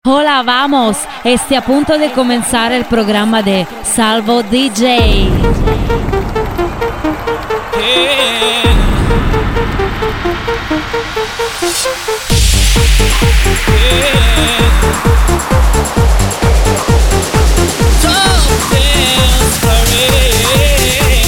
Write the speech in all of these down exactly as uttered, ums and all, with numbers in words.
Hola, vamos. Esté a punto de comenzar el programa de Salvo D J. Yeah. Yeah. Top Dance Parade.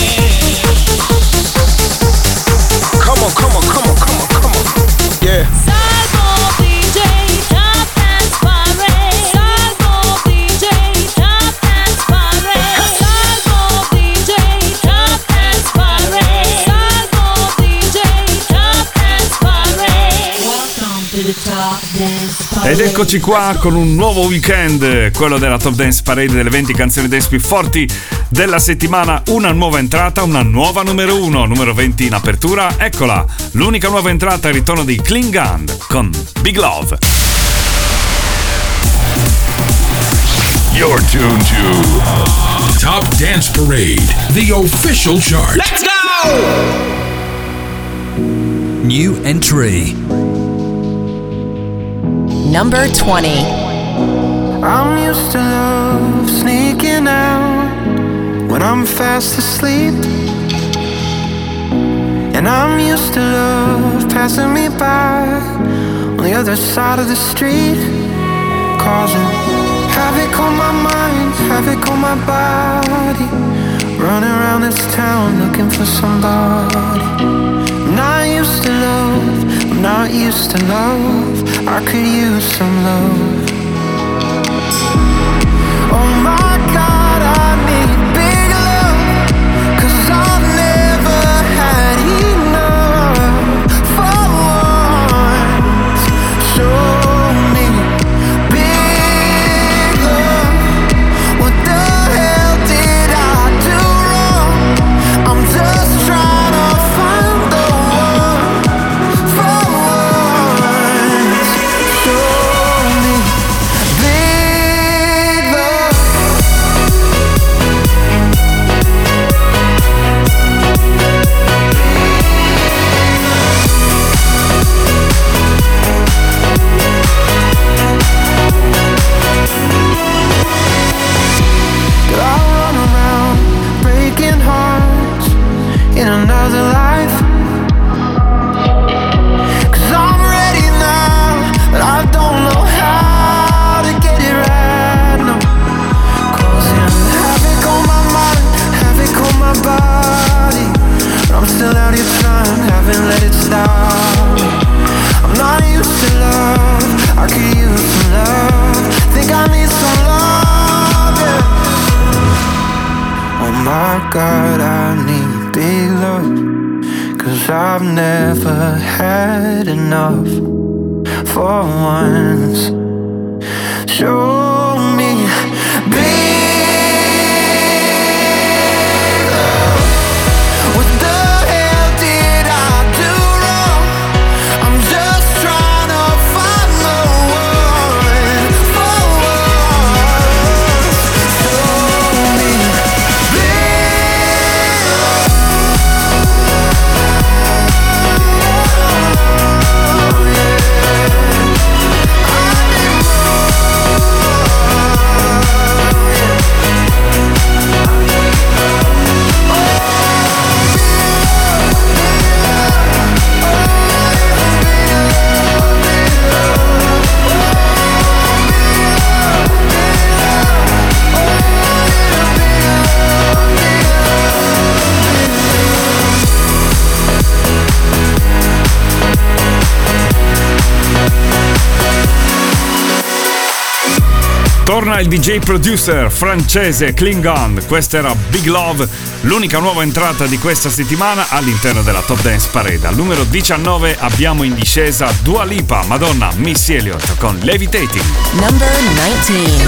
Come on, come on, come on, come on, come on. Yeah. Salvo D J, Top Dance Parade. Salvo D J, Top Dance Parade. Salvo D J, Top Dance Parade. Salvo D J, Top Dance Parade. Welcome to the Top Dance Parade. Ed eccoci qua con un nuovo weekend, quello della Top Dance Parade, delle venti canzoni dance più forti della settimana. Una nuova entrata, una nuova numero uno, numero venti in apertura. Eccola, l'unica nuova entrata è il ritorno di Klingon con Big Love. You're tuned to Top Dance Parade, the official chart. Let's go! New entry. Number twenty. I'm used to love sneaking out when I'm fast asleep, and I'm used to love passing me by on the other side of the street, causing havoc on my mind, havoc on my body, running around this town looking for somebody. I'm not used to love, I'm not used to love, I could use some love. Oh my God, I need big love, 'cause I've never had enough. For once, show me big love. What the hell did I do wrong? I'm just trying to find the one. For once, show me big love. Did I run around breaking hearts in another life? 'Cause I'm ready now, but I don't know how to get it right now. Causing havoc on my mind, havoc on my body, but I'm still out here trying, haven't let it stop. I'm not used to love, I could use some love. Think I need some love, yeah. Oh my God, I need big love, 'cause I've never had enough. For once, show me big love. What the hell did I do wrong? I'm just trying to find the one. For once, show me big love. Torna il D J producer francese Klingon, questa era Big Love, l'unica nuova entrata di questa settimana all'interno della Top Dance Parade. Al numero diciannove abbiamo in discesa Dua Lipa, Madonna, Missy Elliott con Levitating. Number nineteen.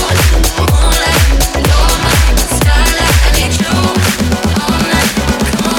Come on.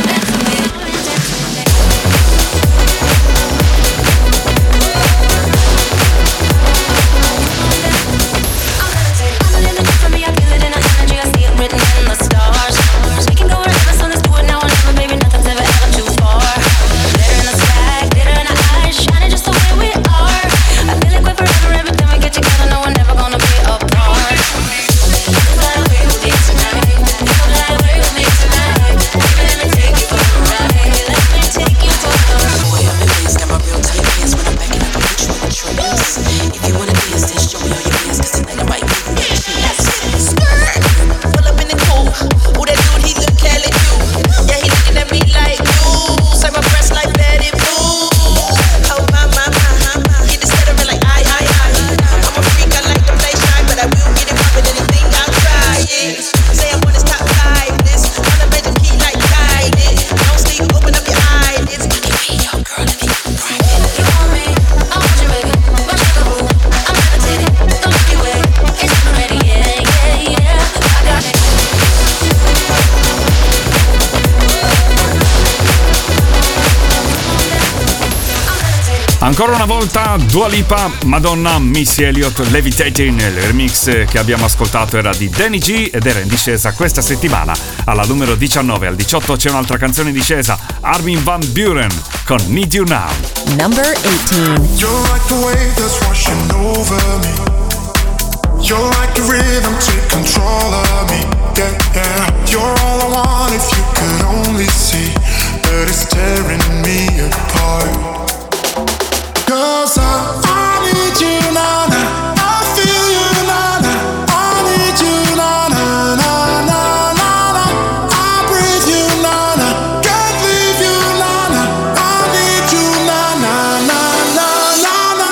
Ancora una volta Dua Lipa, Madonna, Missy Elliott, Levitating. Il remix che abbiamo ascoltato era di Danny G ed era in discesa questa settimana. Alla numero diciannove. Al diciotto c'è un'altra canzone in discesa, Armin van Buuren con Need You Now. Number eighteen. You're like the wave that's washing over me. You're like the rhythm, take control of me. Yeah, yeah. You're all I want if you could only see that it's tearing me apart. Cause I, I need you now, now. I feel you now, now. I need you now, now, now, now, now, now. I breathe you now, now. Can't leave you now, now. I need you now, now, now, now, now, now.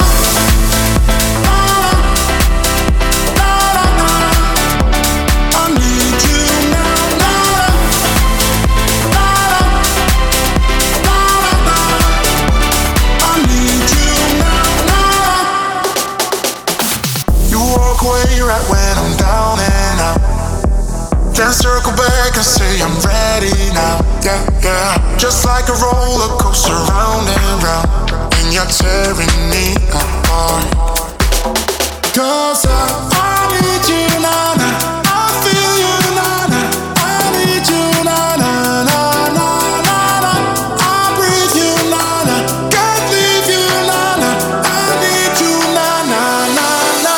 I need you now, now. I need you. Away right when I'm down and out. Then circle back and say I'm ready now. Yeah, yeah. Just like a roller coaster round and round, and you're tearing me apart. Cause I, I need you now, now. I feel you now, now. I need you now, now, now, now, now, now. I breathe you now, now. Can't leave you now, now. I need you now, now, now, now.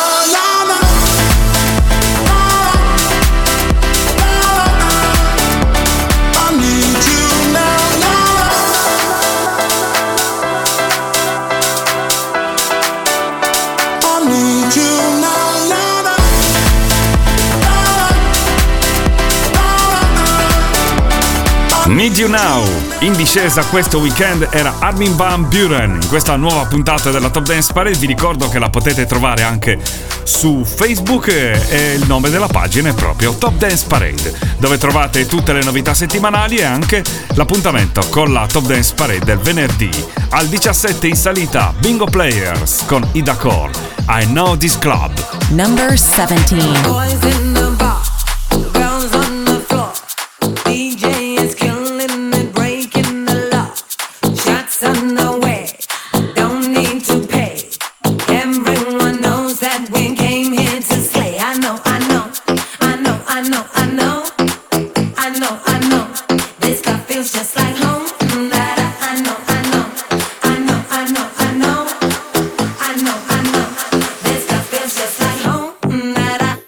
Need You Now. In discesa questo weekend era Armin van Buuren. In questa nuova puntata della Top Dance Parade vi ricordo che la potete trovare anche su Facebook e il nome della pagina è proprio Top Dance Parade, dove trovate tutte le novità settimanali e anche l'appuntamento con la Top Dance Parade del venerdì. Al diciassette in salita Bingo Players con Ida Core, I Know This Club. Number seventeen. Boys in the bar, girls on the floor. D J is killing it, breaking the law. Shots on the way, don't need to pay. Everyone knows that we came here to slay. I know, I know, I know, I know, I know, I know, I know. This stuff feels just like home. That I, I know, I know, I know, I know, I know, I know, I know. This stuff feels just like home. That I.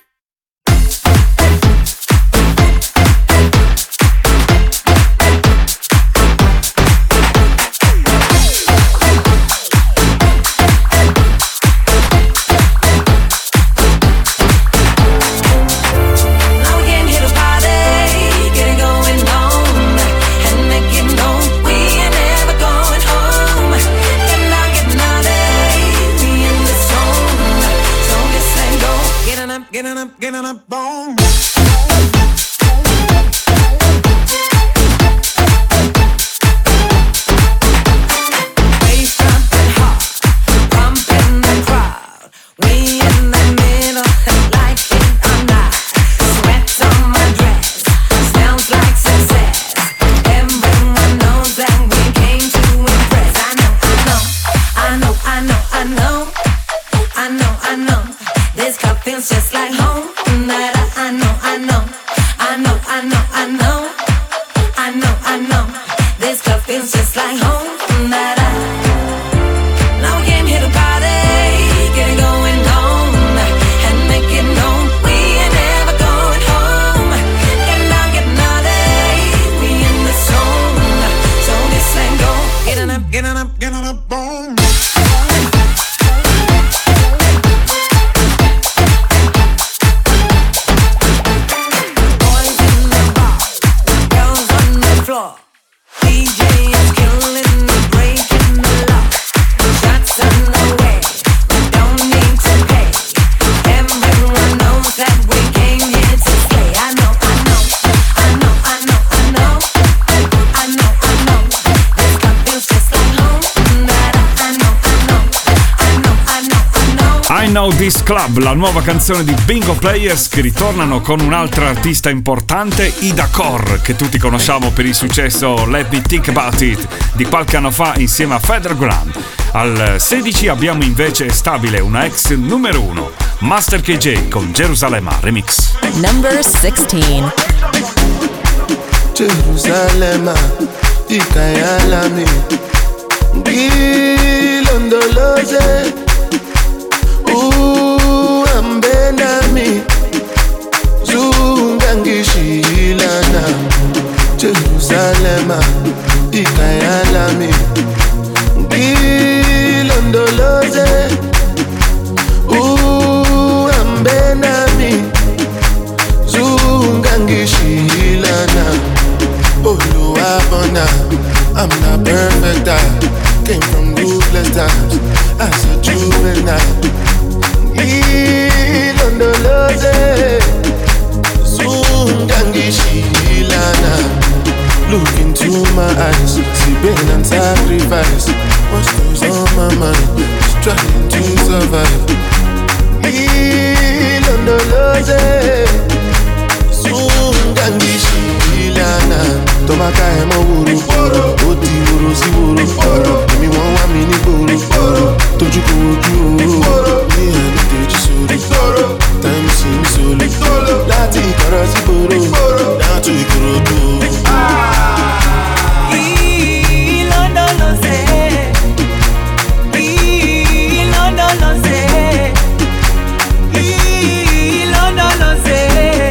Now we came here to party, get it going on, and make it known we ain't never going home. Getting down, getting naughty, we in the zone, so this ain't go. Getting up, getting up, getting up, boom. Bass jumping hard, pumping the crowd. We in the middle, like it or not. Sweat on my dress, smells like success. Everyone knows that we came to impress. I know, I know, I know, I know, I know, I know. This cup feels just like home. That I, I know, I know, I know, I know, I know, I know, I know. This cup feels just like home. That I. Now we came here to party, get it going on, and make it known we ain't never going home. Getting down, getting naughty, we in the zone, so this ain't go. Getting up, getting up, getting up, boom. Boys in the bar, girls on the floor. D J is killing it, breaking the law. Shots on the way, we don't need to pay. Everyone knows that we came here to slay. I know, I know, I know, I know, I know, I know, I know. This cup feels just like home. That I, I know, I know, I know, I know, I know. I Know This Club, la nuova canzone di Bingo Players, che ritornano con un'altra artista importante, Ida Corr, che tutti conosciamo per il successo Let Me Think About It di qualche anno fa insieme a Featherground. Al sedici abbiamo invece stabile una ex numero uno, Master K J con Gerusalemme Remix. Number sixteen. Gerusalemme, ikayalami, ngilondoloze, uhambe nami, zungangishilana. Jerusalema, ikayalami, ngilondoloze, uhambe nami, zungangishilana. Oluwabona, I'm not perfect, I came from ruthless times as a juvenile. Ilondoloze, zungangishilana. Look into my eyes, see pain and sacrifice. What goes on my mind, just trying to survive. Ilondoloze, zungangishilana. Tomaka emo wuru, oti wuru si wuru. Emi won wa mi ni gboro, toju ko oju o. Ni ẹni kejì sórí, time si mi sórí. Láti ìkọ̀rọ̀ sí gboro, down to Ìkòròdú. Ilondoloze, Ilondoloze, Ilondoloze,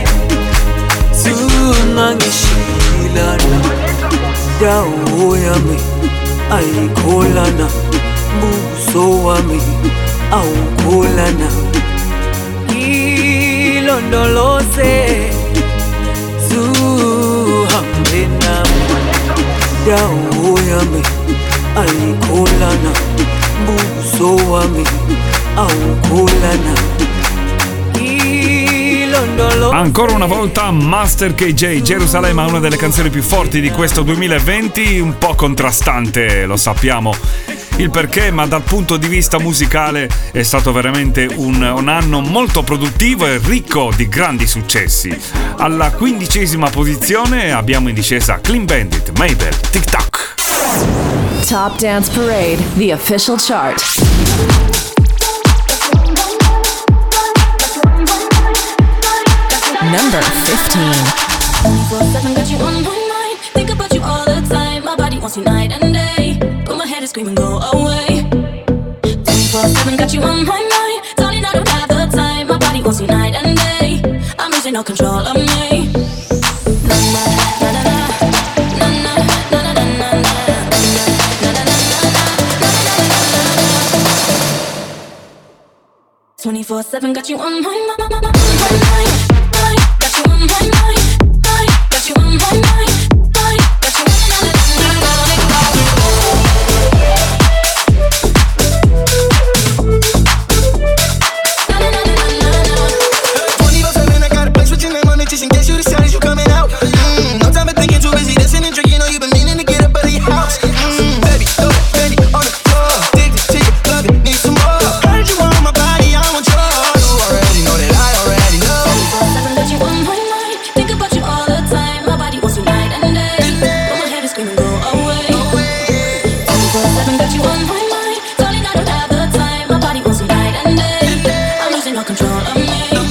zungangishilana. Dawo yami ayikholana, buso wami awukholana. Ilondoloze, zuhambe nami. Dawo yami ayikholana, buso wami awukholana. Ancora una volta Master K J, Gerusalemme, una delle canzoni più forti di questo duemilaventi, un po' contrastante, lo sappiamo il perché, ma dal punto di vista musicale è stato veramente un, un anno molto produttivo e ricco di grandi successi. Alla quindicesima posizione abbiamo in discesa Clean Bandit, Mabel, Tic Tac. Top Dance Parade, the official chart. Number fifteen. twenty-four seven got you on my mind. Think about you all the time. My body wants you night and day. But my head is screaming, go away. twenty-four seven got you on my mind. Darling, I don't have the time. My body wants you night and day. I'm losing all control of me. Na na na na na. Na na na na na na na. Na na na na na na. twenty-four seven got you on my mind. Got you on my mind, mind, got you on my mind, mind, got you on my twenty-four seven, I got a place with your name on it just in case you decided you coming out. Mm, no time for thinking, too busy dancing and drinking. Know you've been meaning to get up out of your house. Mm, baby, throw that Fendi on the floor. Addicted to your love, it need some more. Heard you want my body, I want yours. You already know that I already know. twenty-four seven got you on my mind. Think about you all the time. My body wants you night and day. But my head is screaming, go away. twenty-four seven got you on my mind. Darling, I don't have the time. My body wants you night and day. I'm losing all control of me.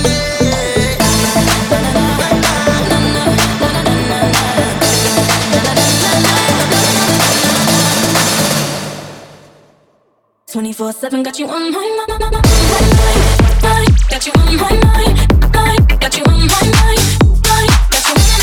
twenty-four seven got you on my mind. Got you on my mind. Got you on my mind. Got you on my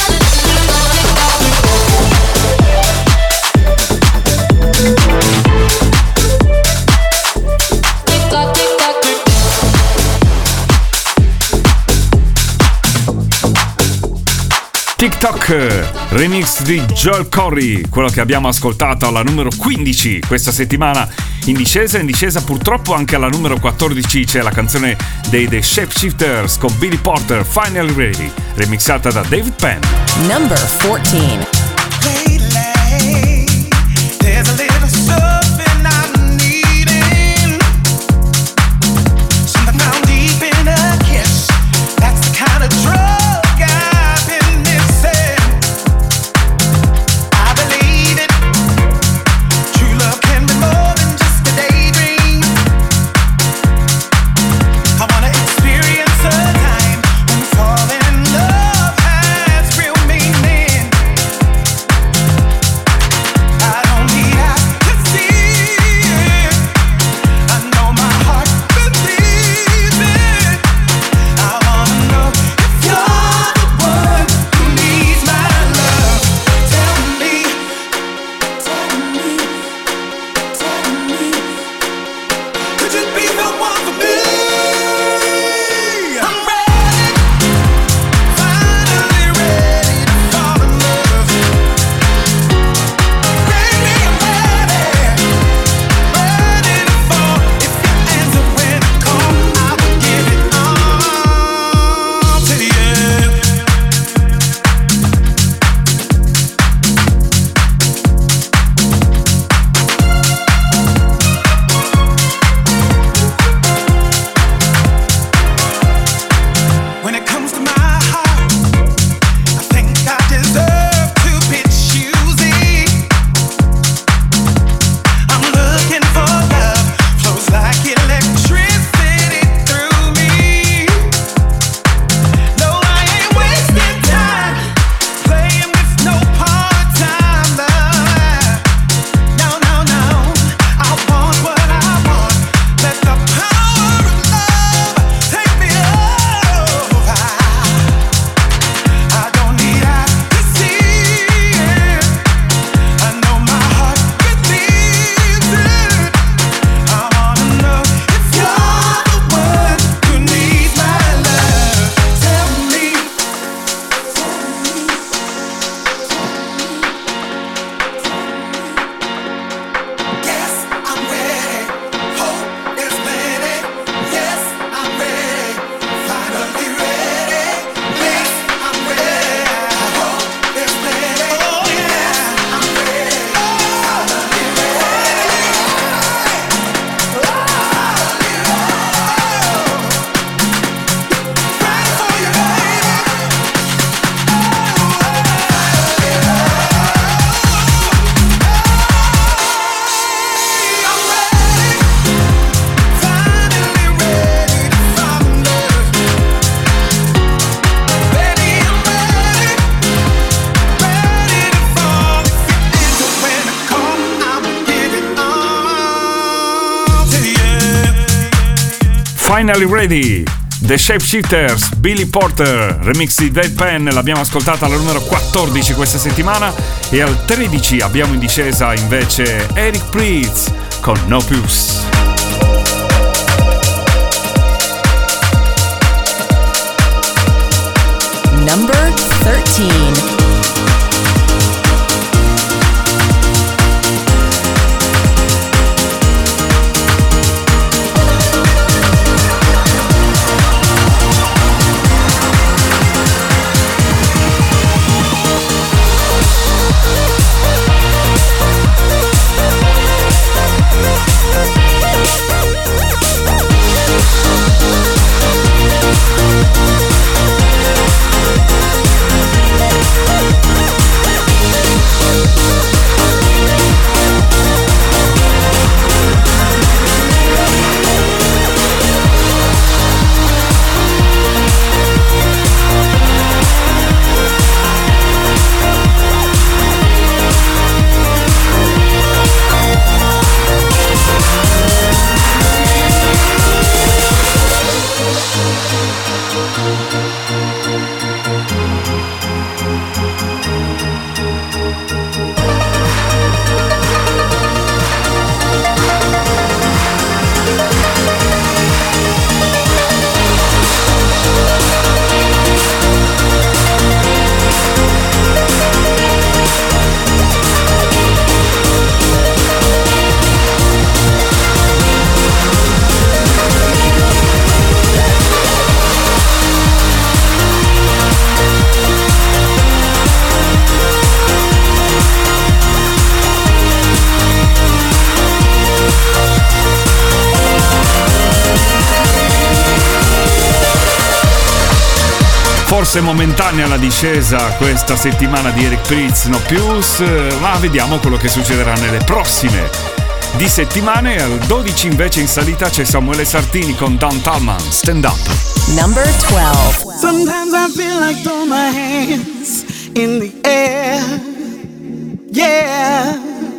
TikTok, remix di Joel Corry, quello che abbiamo ascoltato alla numero quindici questa settimana. In discesa, in discesa purtroppo anche alla numero quattordici c'è la canzone dei The Shapeshifters con Billy Porter, Finally Ready, remixata da David Penn. Number fourteen. Lately, there's a little something I'm needing. Something I Finally Ready, The Shapeshifters, Billy Porter, remix di Deadpan, l'abbiamo ascoltata alla numero quattordici questa settimana, e al tredici abbiamo in discesa invece Eric Prydz con No Puce. Number thirteen. Forse momentanea la discesa questa settimana di Eric Prydz, No Puce, ma vediamo quello che succederà nelle prossime di settimane. Al dodici invece in salita c'è Samuele Sartini con Don Tallman, Stand Up. Number twelve. Sometimes I feel like throwing my hands in the air. Yeah.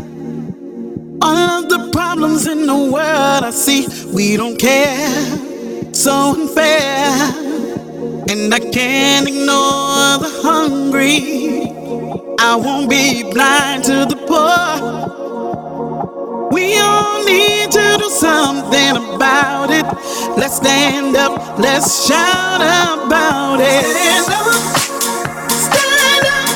All of the problems in the world I see, we don't care. So unfair. And I can't ignore the hungry. I won't be blind to the poor. We all need to do something about it. Let's stand up, let's shout about it. Stand up, stand up,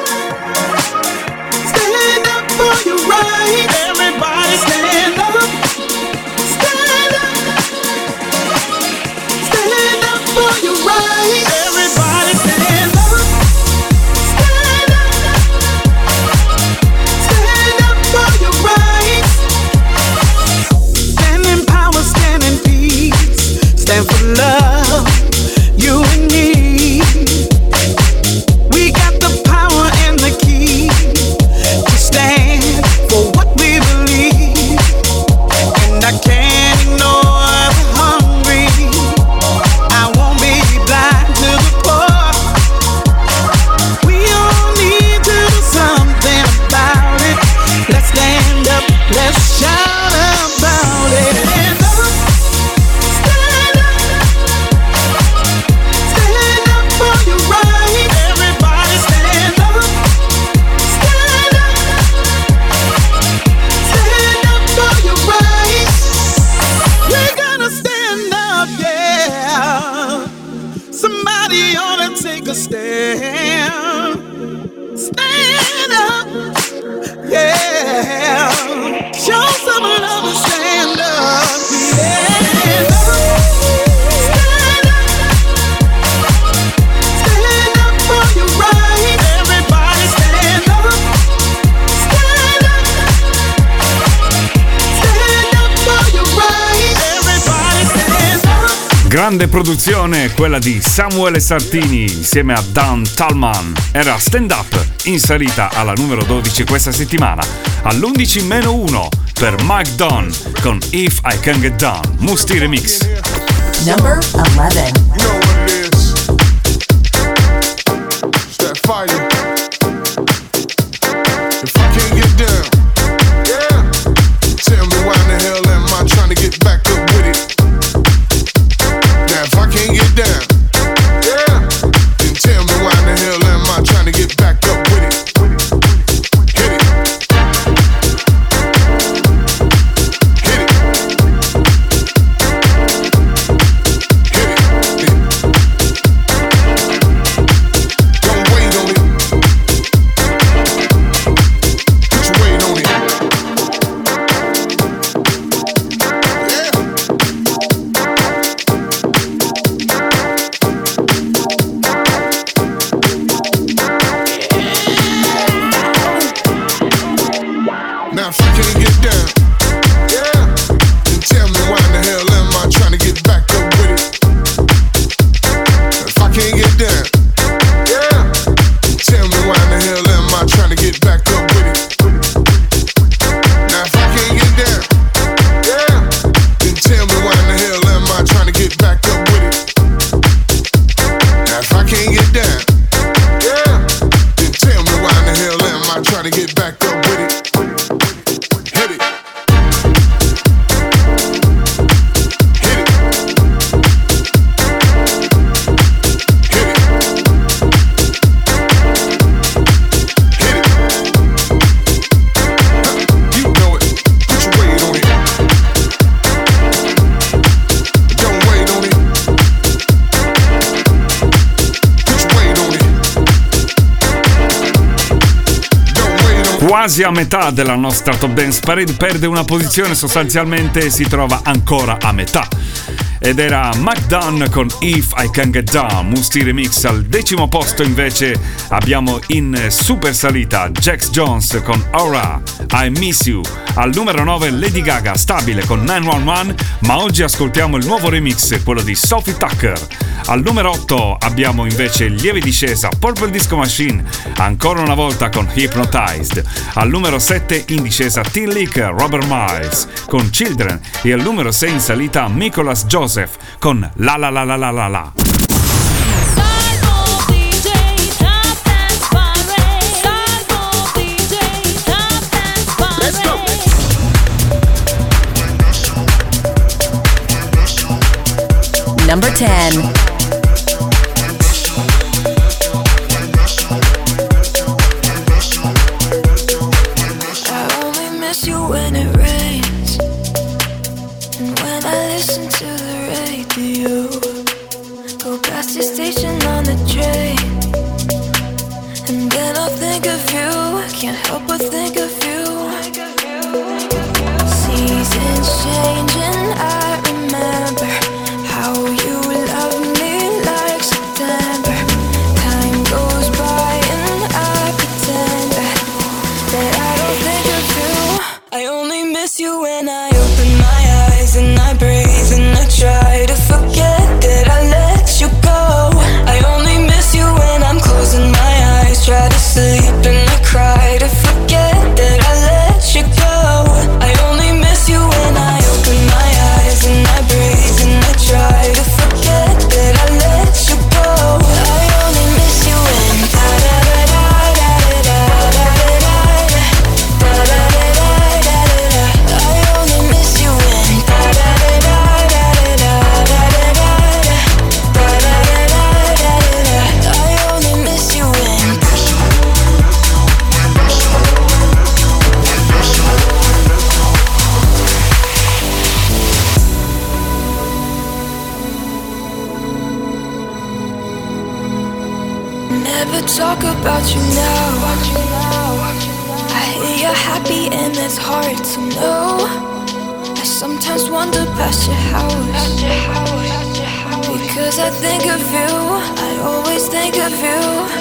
stand up for your right. Everybody stand up, stand up, stand up for your right. Everybody stand up, stand up, stand up for your rights. Stand in power, stand in peace, stand for love, you and me. We got the power and the key to stand for what we believe. And I can't ignore the hungry. I won't be blind to the poor. We all need to do something about it. Let's stand up, let's shout about it. Stand up, stand up, stand up for your right. Everybody stand up, stand up, stand up for your right. We're gonna stand up, yeah. Somebody ought to take a stand. Stand up, yeah. Show some love and stand up, yeah. Stand up, stand up for your right. Everybody stand up, stand up, stand up for your right. Everybody stand up. Grande produzione quella di Samuele Sartini insieme a Don Tallman. Era Stand Up, in salita alla numero dodici questa settimana. All'undici meno uno per Mike Dunn con If I Can Get Down, Musti Remix. Number eleven. You know what it is. It's that fighting. If I can't get down, yeah. Tell me why in the hell am I trying to get back up with it? Now if I can't get down, yeah, then tell me why in the hell am I trying to get back up with it? If I can't get down, yeah, then tell me why in the hell am I trying to get back up with it? Now if I can't get down, yeah, then tell me why in the hell am I trying to get back up with it? Now if I can't get down, yeah, then tell me why in the hell am I trying to get back up with it? Hit it. Hit it. Hit it. Hit it. Huh, you know it. Put your weight on it. Don't wait on it. Put your weight on it. Don't wait on it. Quasi a metà della nostra Top Dance Parade, perde una posizione, sostanzialmente si trova ancora a metà. Ed era Mac Dunn con If I Can Get Down, Musti Remix. Al decimo posto invece abbiamo in super salita Jax Jones con Aura, I Miss You. Al numero nove Lady Gaga, stabile con nove uno uno, ma oggi ascoltiamo il nuovo remix, quello di Sophie Tucker. Al numero otto abbiamo invece in lieve discesa Purple Disco Machine, ancora una volta con Hypnotized. Al numero sette in discesa Tin Licker, Robert Miles con Children. E al numero sei in salita Nicholas Joseph con La La La La La La La. Salvo D J Top Dance Parade. Salvo D J Top Dance Parade. Let's go. Number ten. I only miss you when it rains, and when I listen to the radio, go past your station on the train, and then I'll think of you. I can't help but think of you. Seasons change and I remember how you loved me like September. Time goes by and I pretend that, that I don't think of you. I only miss you when I open my eyes and I breathe and I try to forget that I let you go. I only miss you when I'm closing my eyes, try to sleep and I cry to forget that I let you go. I only miss you when I open my eyes and I breathe and I try to forget that I let you go. I only miss you when da da da da da da da da da da da da da. I only miss you when da da da da da da da da da da da da. I only miss you when. Never talk about you now. I hear you're happy and that's hard to know. I sometimes wander past your house, because I think of you, I always think of you.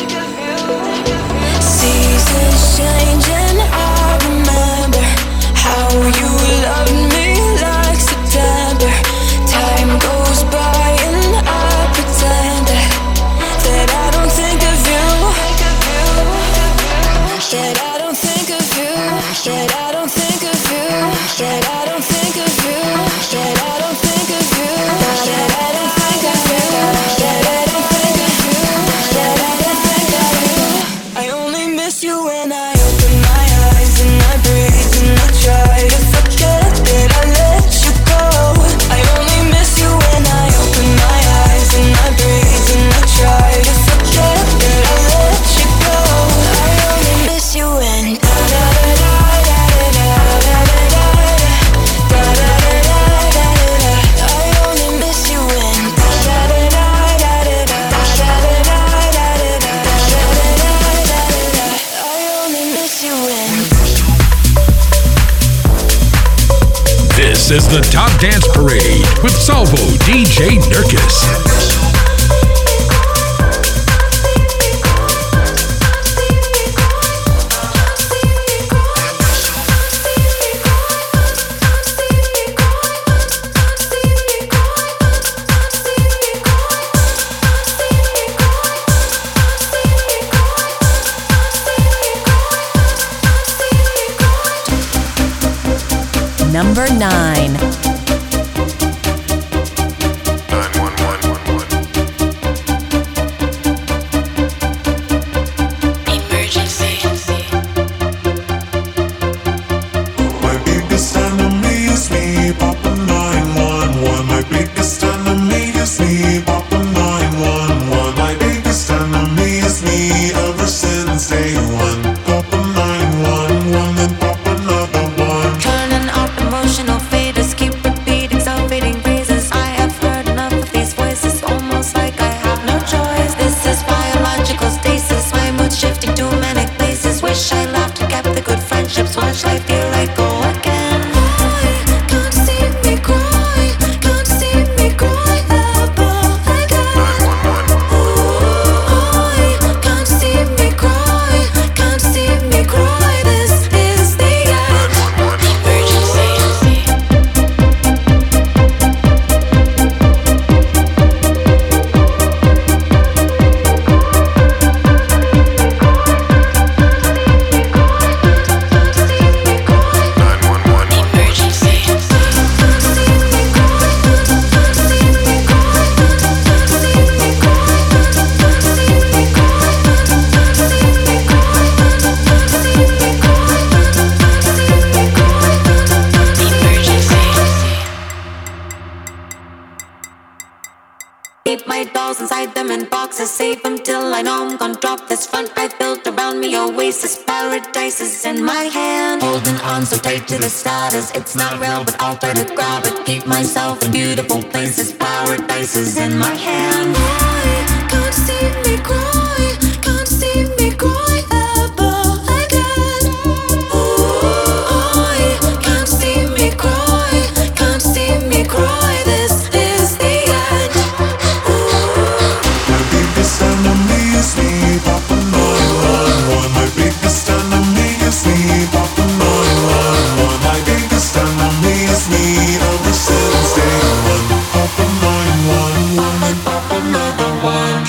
Seasons change and I remember how you loved me like September. Time goes by and I pretend that, that I don't think of you, that I don't think of you, that I don't think of you, that I don't think of you, that I don't think of you, that I don't think of you, that I don't think of you, that I don't think of you. I only miss you when I open my eyes and I breathe and I try to forget that I let you go. I only miss you when I open my eyes and I breathe and I try to forget that I let you go. I only miss you when da da da da da da da da da da da da da. I only miss you when da da da da da da da da da da da. I only miss you when. This is the Top Dance Parade with Salvo D J Nurkis. number nine. Keep my dolls inside them in boxes, save them till I know I'm gonna drop this front I built around me. Oasis, paradise is in my hand. Holding on so tight to the status, it's not real but I'll try to grab it. Keep myself in beautiful places, paradise is in my hand. I can't see me cry, can't see me cry ever again. Ooh, I can't see me cry, can't see me cry. This is the end. My biggest enemy is me, Papa nine one one. My biggest enemy is me, Papa nine one one. My biggest enemy is me ever since day one. Papa nine one one and Papa another one.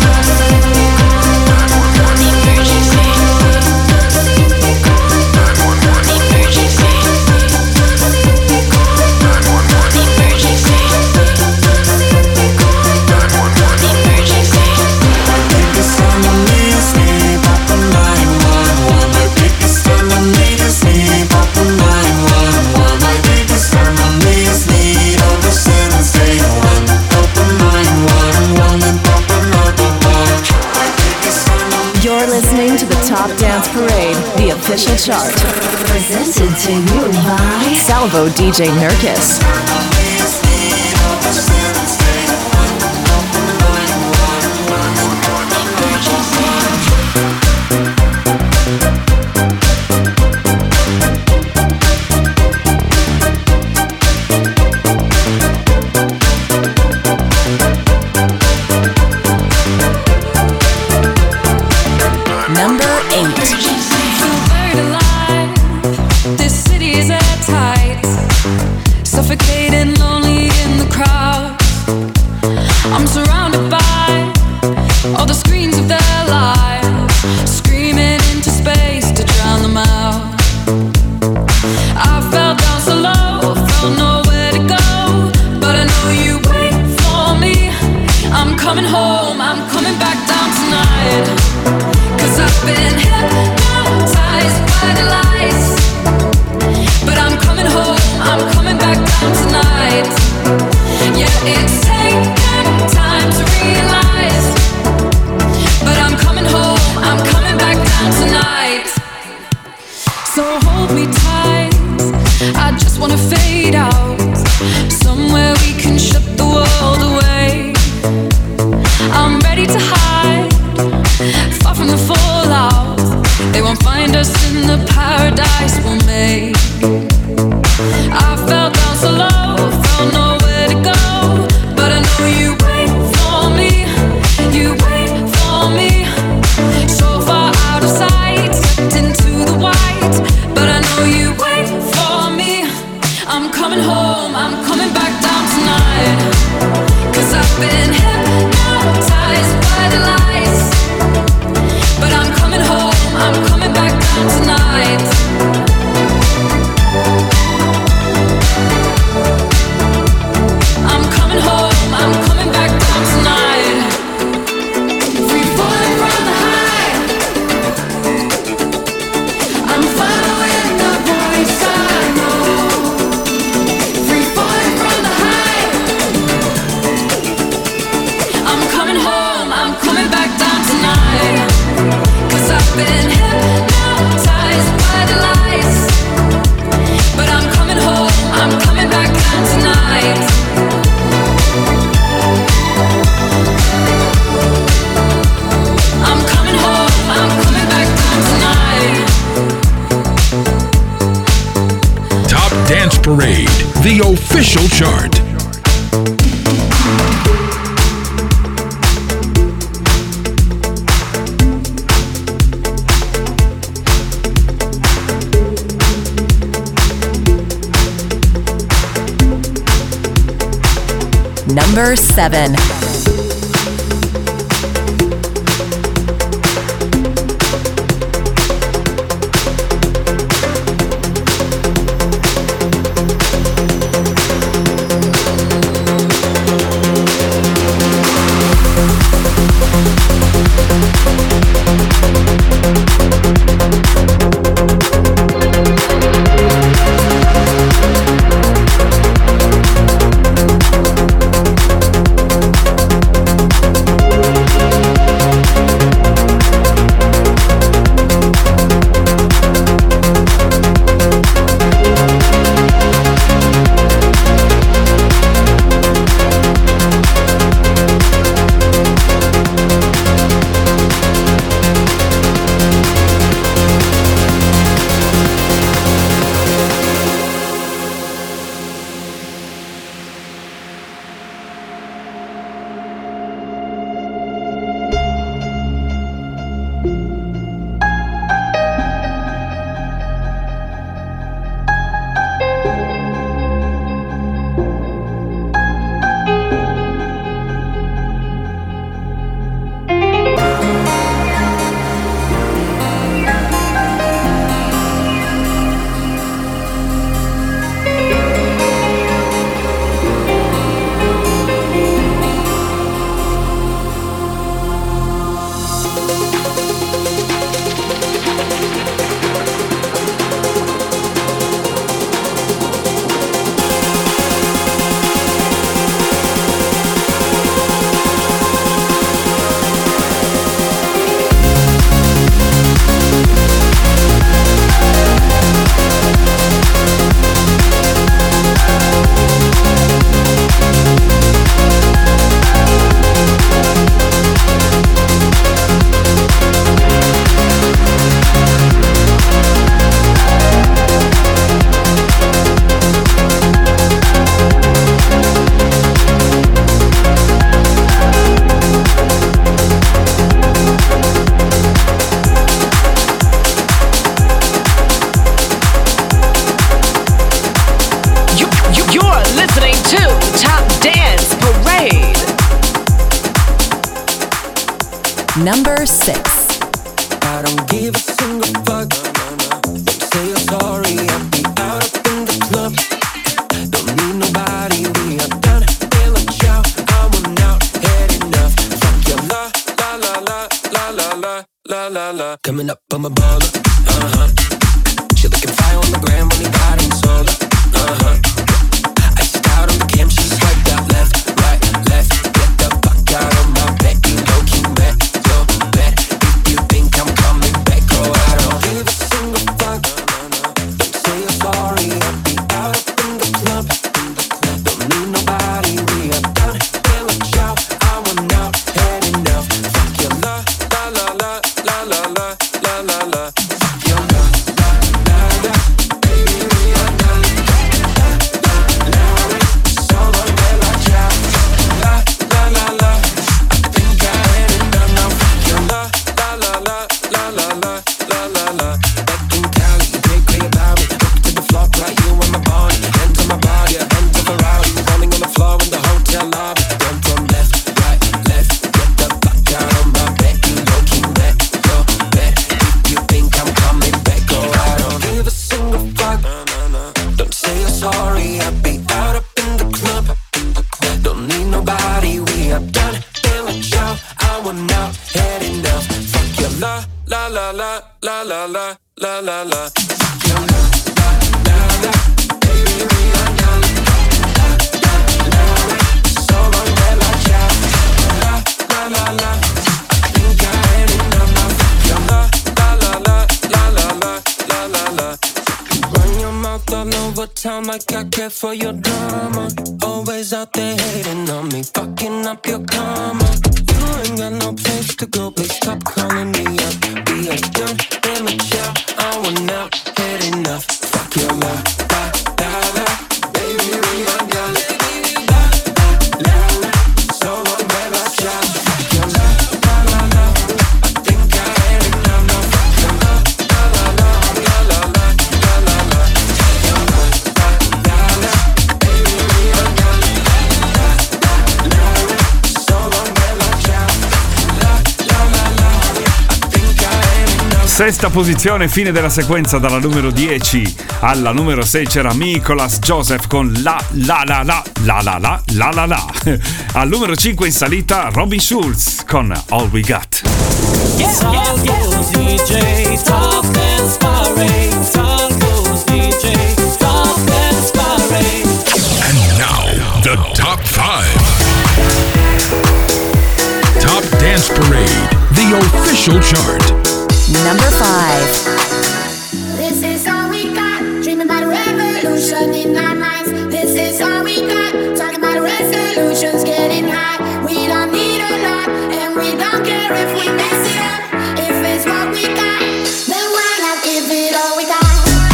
Listening to the Top Dance Parade, the official chart. Presented to you by Salvo D J Nurkis. But I'm coming home, I'm coming back down tonight. Dance Parade, the official chart. Number seven. Number six. I don't give a single fuck. Don't say you're sorry. I'll be out up in the club. Don't need nobody. We are done. Feel a chow. I want out. Had enough. Fuck your la la la la la la la la la la. Coming up on my baller. Uh huh. She looking fire on the gram. Only body and solar. Uh huh. I just out on the cam. She swiped out left, right, left. Get the fuck out of my bed. You low key back. Like I care for your drama. Always out there hating on me, fucking up your karma. You ain't got no place to go, please stop calling me up. We are done, damn it, yeah. I want out, had enough. Fuck your love, la, la. Sesta posizione, fine della sequenza dalla numero dieci alla numero sei c'era Nicholas Joseph con La La La La La La La La La La. Al numero cinque in salita Robin Schulz con All We Got. Salvo D J Top Dance Parade. Salvo D J Top Dance Parade. And now, the top five. Top Dance Parade, the official chart. Number five. This is all we got. Dreaming about a revolution in our minds. This is all we got. Talking about resolutions, getting high. We don't need a lot, and we don't care if we mess it up. If it's what we got, then why not give it all we got?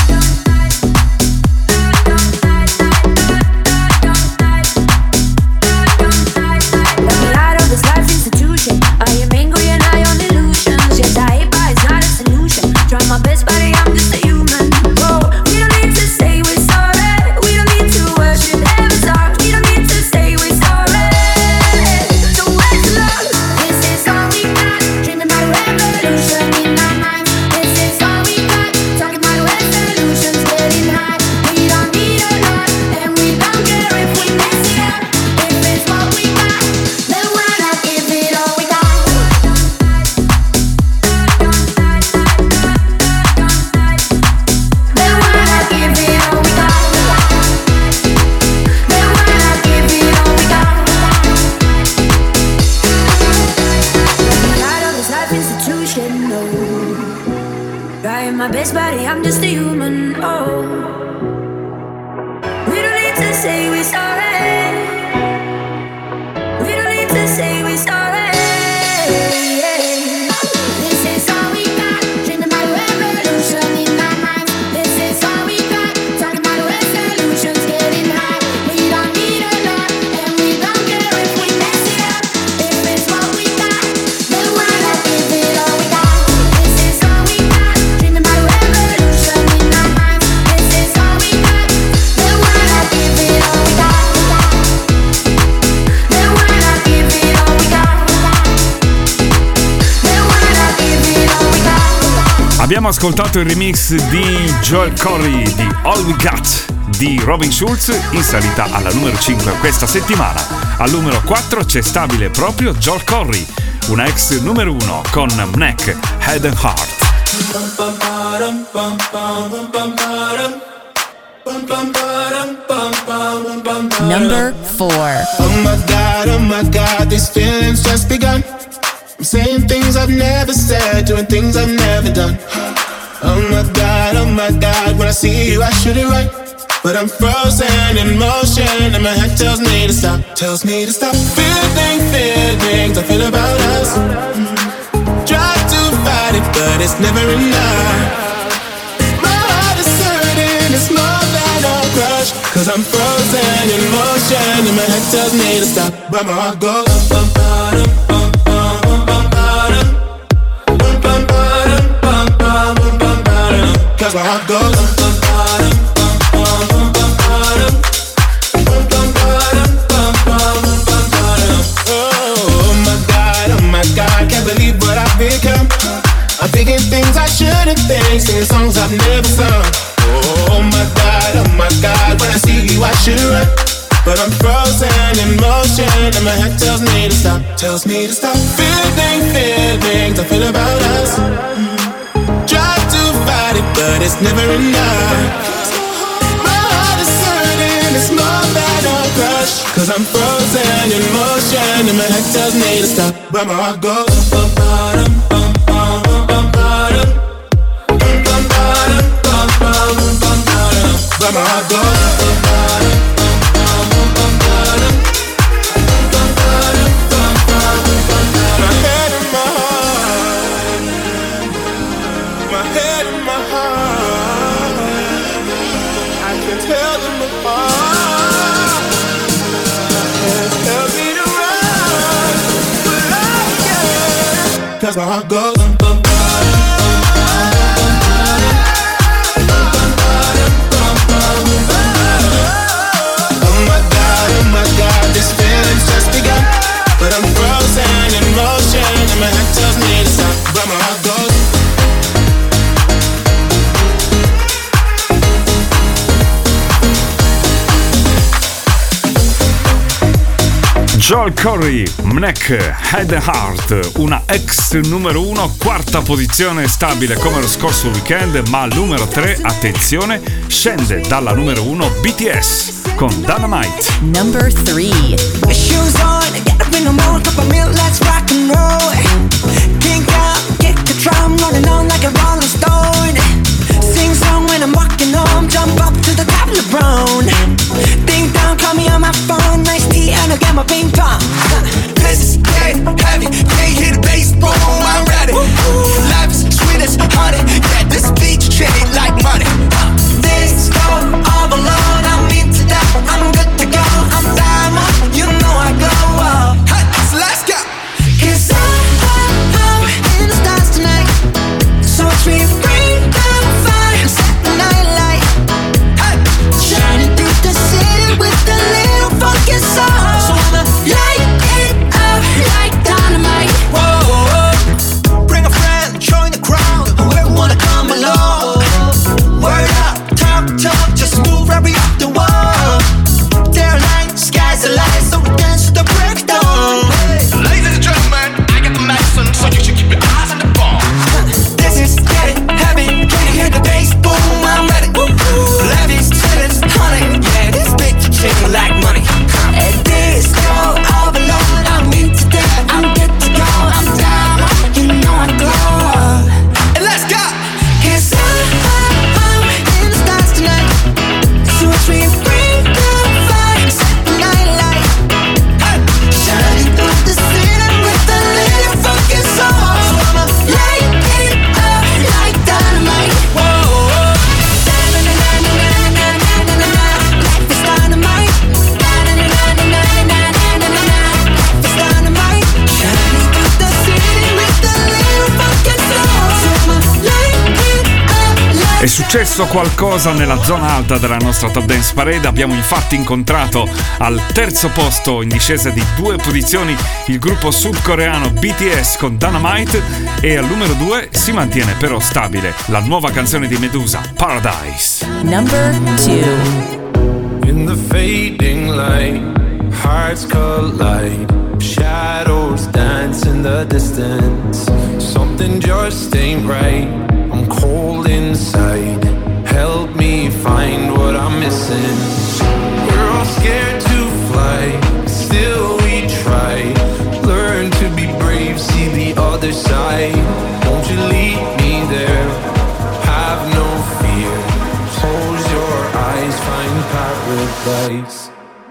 Let me light up this life institution. I am angry and I own illusions. Yes, I hate, but it's not a solution. Try my best, buddy, I'm just a human. Oh, we don't need to say we're sorry. We don't need to worship heaven's heart. We don't need to say we're sorry. So where's the love? This is all we got. Dreaming about a revolution in our minds. This is all we got. Talking about resolutions, getting high. We don't need a lot, and we don't care if we mess it up. If it's what we got, then why not give it all we got? Then why not give it all we got? Then why not give it all we got? Light of this life institution, no. Trying my best, buddy, I'm just a human, oh. We don't need to say we're sorry. We don't need to say we're sorry. This is all we got. Dreaming about a revolution in our minds. This is all we got. Talking about resolutions, getting high. We don't need a lot, and we don't care if we mess it up. If it's what we got, then why not give it all we got? This is all we got. Dreaming about a revolution in our minds. This is all we got. Then why not give it all we got? Then why not give it all we got? Then why not give it all we got? Abbiamo ascoltato il remix di Joel Corry di All We Got di Robin Schulz, in salita alla numero cinque questa settimana. Al numero quattro c'è stabile proprio Joel Corry, una ex numero uno con Mnek, Head and Heart. Number four. Oh my God, oh my God, these feelings just begun. I'm saying things I've never said, doing things I've never done. Oh my God, oh my God, when I see you I shoot it right. But I'm frozen in motion and my head tells me to stop, tells me to stop. Feeling, feelings I feel about us. Mm. Try to fight it, but it's never enough. My heart is hurting, it's more than a crush. Cause I'm frozen in motion and my head tells me to stop. But my heart goes bum, bum, bum, bum, bum, bum, bum, bum, bum, bum, bum, bum, bum. Cause my heart goes bum, bum, bum, bum, bum, bum, bum, bum, bum, bum, bum. Oh my God, oh my God, can't believe what I've become. I'm thinking things I shouldn't think, singing songs I've never sung. Oh my God, oh my God, when I see you I should run. But I'm frozen in motion and my head tells me to stop, tells me to stop. Feeling, feelings I feel about us. Mm. Try to fight it, but it's never enough. My heart is hurting, it's more than a crush. Cause I'm frozen in motion and my head tells me to stop. But my heart goes bum, bum, bum, bum, bum, bum, bum, bum, bum, bum, bum, bum. But my heart goes bum, bum, bum, bum, bum, bum, bum, bum, bum. My head and my heart, my head and my heart, I can tell them apart. Tell me to run, but I can't. Cause my heart goes bum, bum, bum, oh my God, oh my God, this feeling's just begun. But I'm frozen in motion and my head tells me to stop. But my heart goes Joel Corry, Mnek, Head and Heart, una ex numero uno, quarta posizione stabile come lo scorso weekend, ma al numero tre, attenzione, scende dalla numero uno B T S con Dynamite. Number three. Shoes on, get up in the morning, cup of milk, let's rock and roll. Kink out, kick the drum, running on like a rolling stone. Sing song when I'm walking home, jump up to the top of the brown. Ding dong, call me on my phone, nice tea and I'll get my ping pong. This is getting heavy, can't hear the bass, boom, I'm ready. Life is sweet as honey, yeah, this beach chain like money. This go all alone, I'm into that, I'm good to go, I'm diamond, you know I glow up. Hey, so let's go. Cause I'm, I'm in the stars tonight, so watch me bring the fire, set the night light. Hey, shining through the city with a little funky soul. So I'ma light it up like dynamite. Whoa, bring a friend, join the crowd, whoever wanna come along. Word up, talk, talk, just move right up the wall. Day or night, sky's the light, so we dance to the break of dawn. Ladies and gentlemen, I got the medicine, so you should keep your eyes on the ball. This is getting heavy, can you hear the bass? Boom, I'm ready. Levies, chillin', honey, yeah, this big chicken like money. And this go all alone, I'm into that, I'm good to go, I'm down, you know I glow. And let's go. Cause I'm, I'm in the stars tonight, so watch me bring the fire, set the night light. Hey, shining through the city with a little funky soul. So I'ma light it up like dynamite. Whoa, da-na-na-na-na-na-na-na-na-na. Life is dynamite. Da-na-na-na-na-na-na-na-na. Life is dynamite. Shining through the city with a little funky soul. So I'ma light it up like. È successo qualcosa nella zona alta della nostra Top Dance Parade, abbiamo infatti incontrato al terzo posto in discesa di due posizioni il gruppo sudcoreano B T S con Dynamite e al numero due si mantiene però stabile la nuova canzone di Medusa, Paradise. Number two. In the fading light, hearts collide, shadows dance in the distance. Something just ain't right, I'm cold inside. Help me find what I'm missing. We're all scared to fly, still we try. Learn to be brave, see the other side. Won't you lead me there? Have no fear. Close your eyes, find paradise.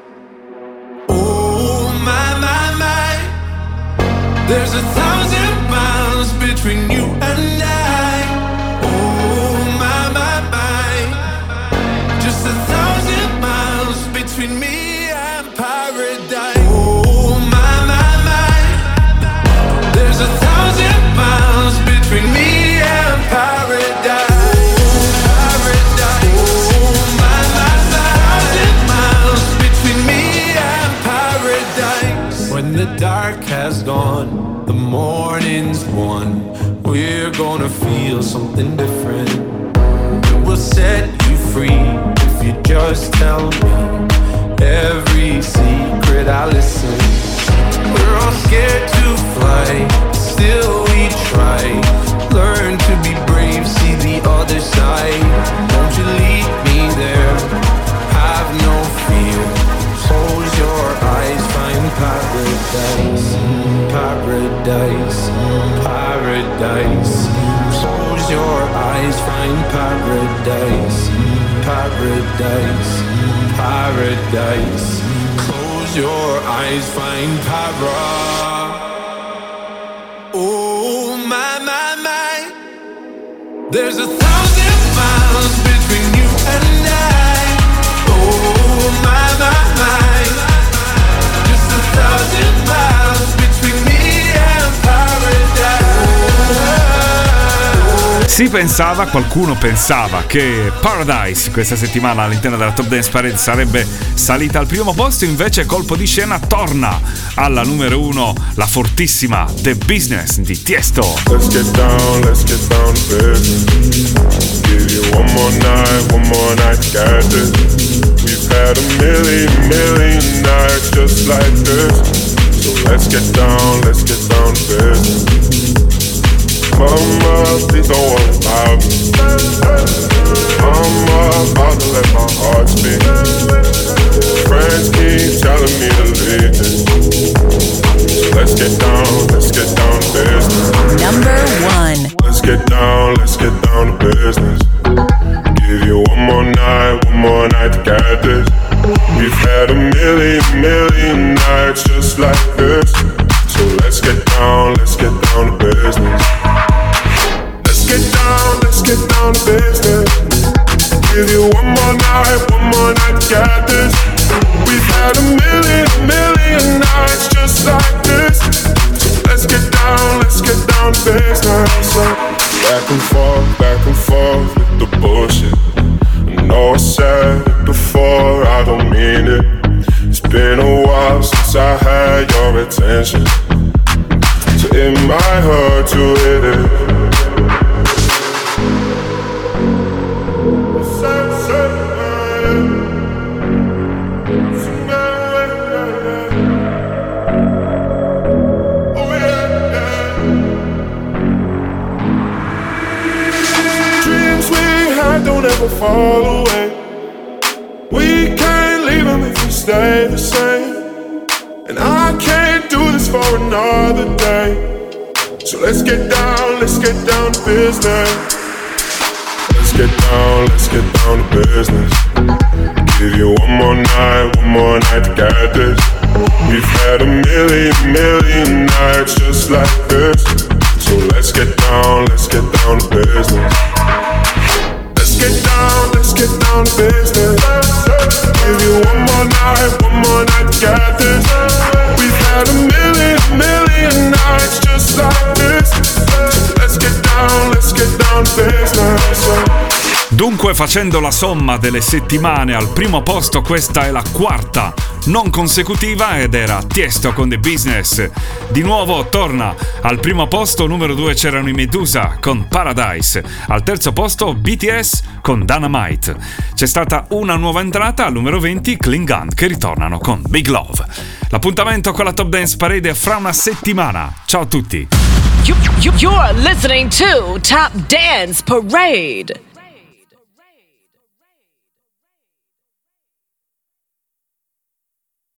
Oh my, my, my. There's a thousand miles between you and I. Oh my, my, my. Just a thousand miles between me and paradise. Oh my, my, my. There's a thousand miles between me and paradise. Paradise. Oh my, my, my. Thousand miles between me and paradise. When the dark has gone, the morning's won. We're gonna feel something different. It will set you free if you just tell me every secret I listen. We're all scared to fly, still we try. Learn to be brave, see the other side. Won't you lead me there? Have no fear. Close your eyes, find paradise. Paradise, paradise. Close your eyes, find paradise. Paradise, paradise. Close your eyes, find para. Oh my, my, my. There's a thousand miles between you and I. Oh my, my, my. Just a thousand miles between me and paradise. Si pensava, qualcuno pensava che Paradise questa settimana all'interno della Top Dance Parade sarebbe salita al primo posto, invece colpo di scena torna alla numero uno la fortissima The Business di Tiesto. Let's get down, let's get down to business. Give you one more night, one more night, got this. We've had a million, million nights just like this. So let's get down, let's get down to business. Mama, please don't worry about me. I'm about to let my heart speak. Friends keep telling me to leave this. So let's get down, let's get down to business. Number one. Let's get down, let's get down to business. Give you one more night, one more night to get this. We've had a million, million nights just like this. So let's get down, let's get down to business. Let's get down, let's get down to business. Give you one more night, one more night to get this. We've had a million, million nights just like this. So let's get down, let's get down to business. Back and forth, back and forth with the bullshit. I know I said it before, I don't mean it. It's been a while since I had your attention, so it might hurt to hit it. Don't ever fall away. We can't leave them if we stay the same. And I can't do this for another day. So let's get down, let's get down to business. Let's get down, let's get down to business. Give you one more night, one more night to get this. We've had a million, million nights just like this. So let's get down, let's get down to business. Let's get down, let's get down to business. Give you one more night, one more night to get this. We've had a million, million nights just like this. Let's get down, let's get down to business. Dunque, facendo la somma delle settimane al primo posto, questa è la quarta non consecutiva ed era Tiesto con The Business. Di nuovo torna al primo posto, numero due c'erano i Medusa con Paradise, al terzo posto B T S con Dynamite. C'è stata una nuova entrata, al numero venti Klingon che ritornano con Big Love. L'appuntamento con la Top Dance Parade è fra una settimana. Ciao a tutti. You, you, you're listening to Top Dance Parade.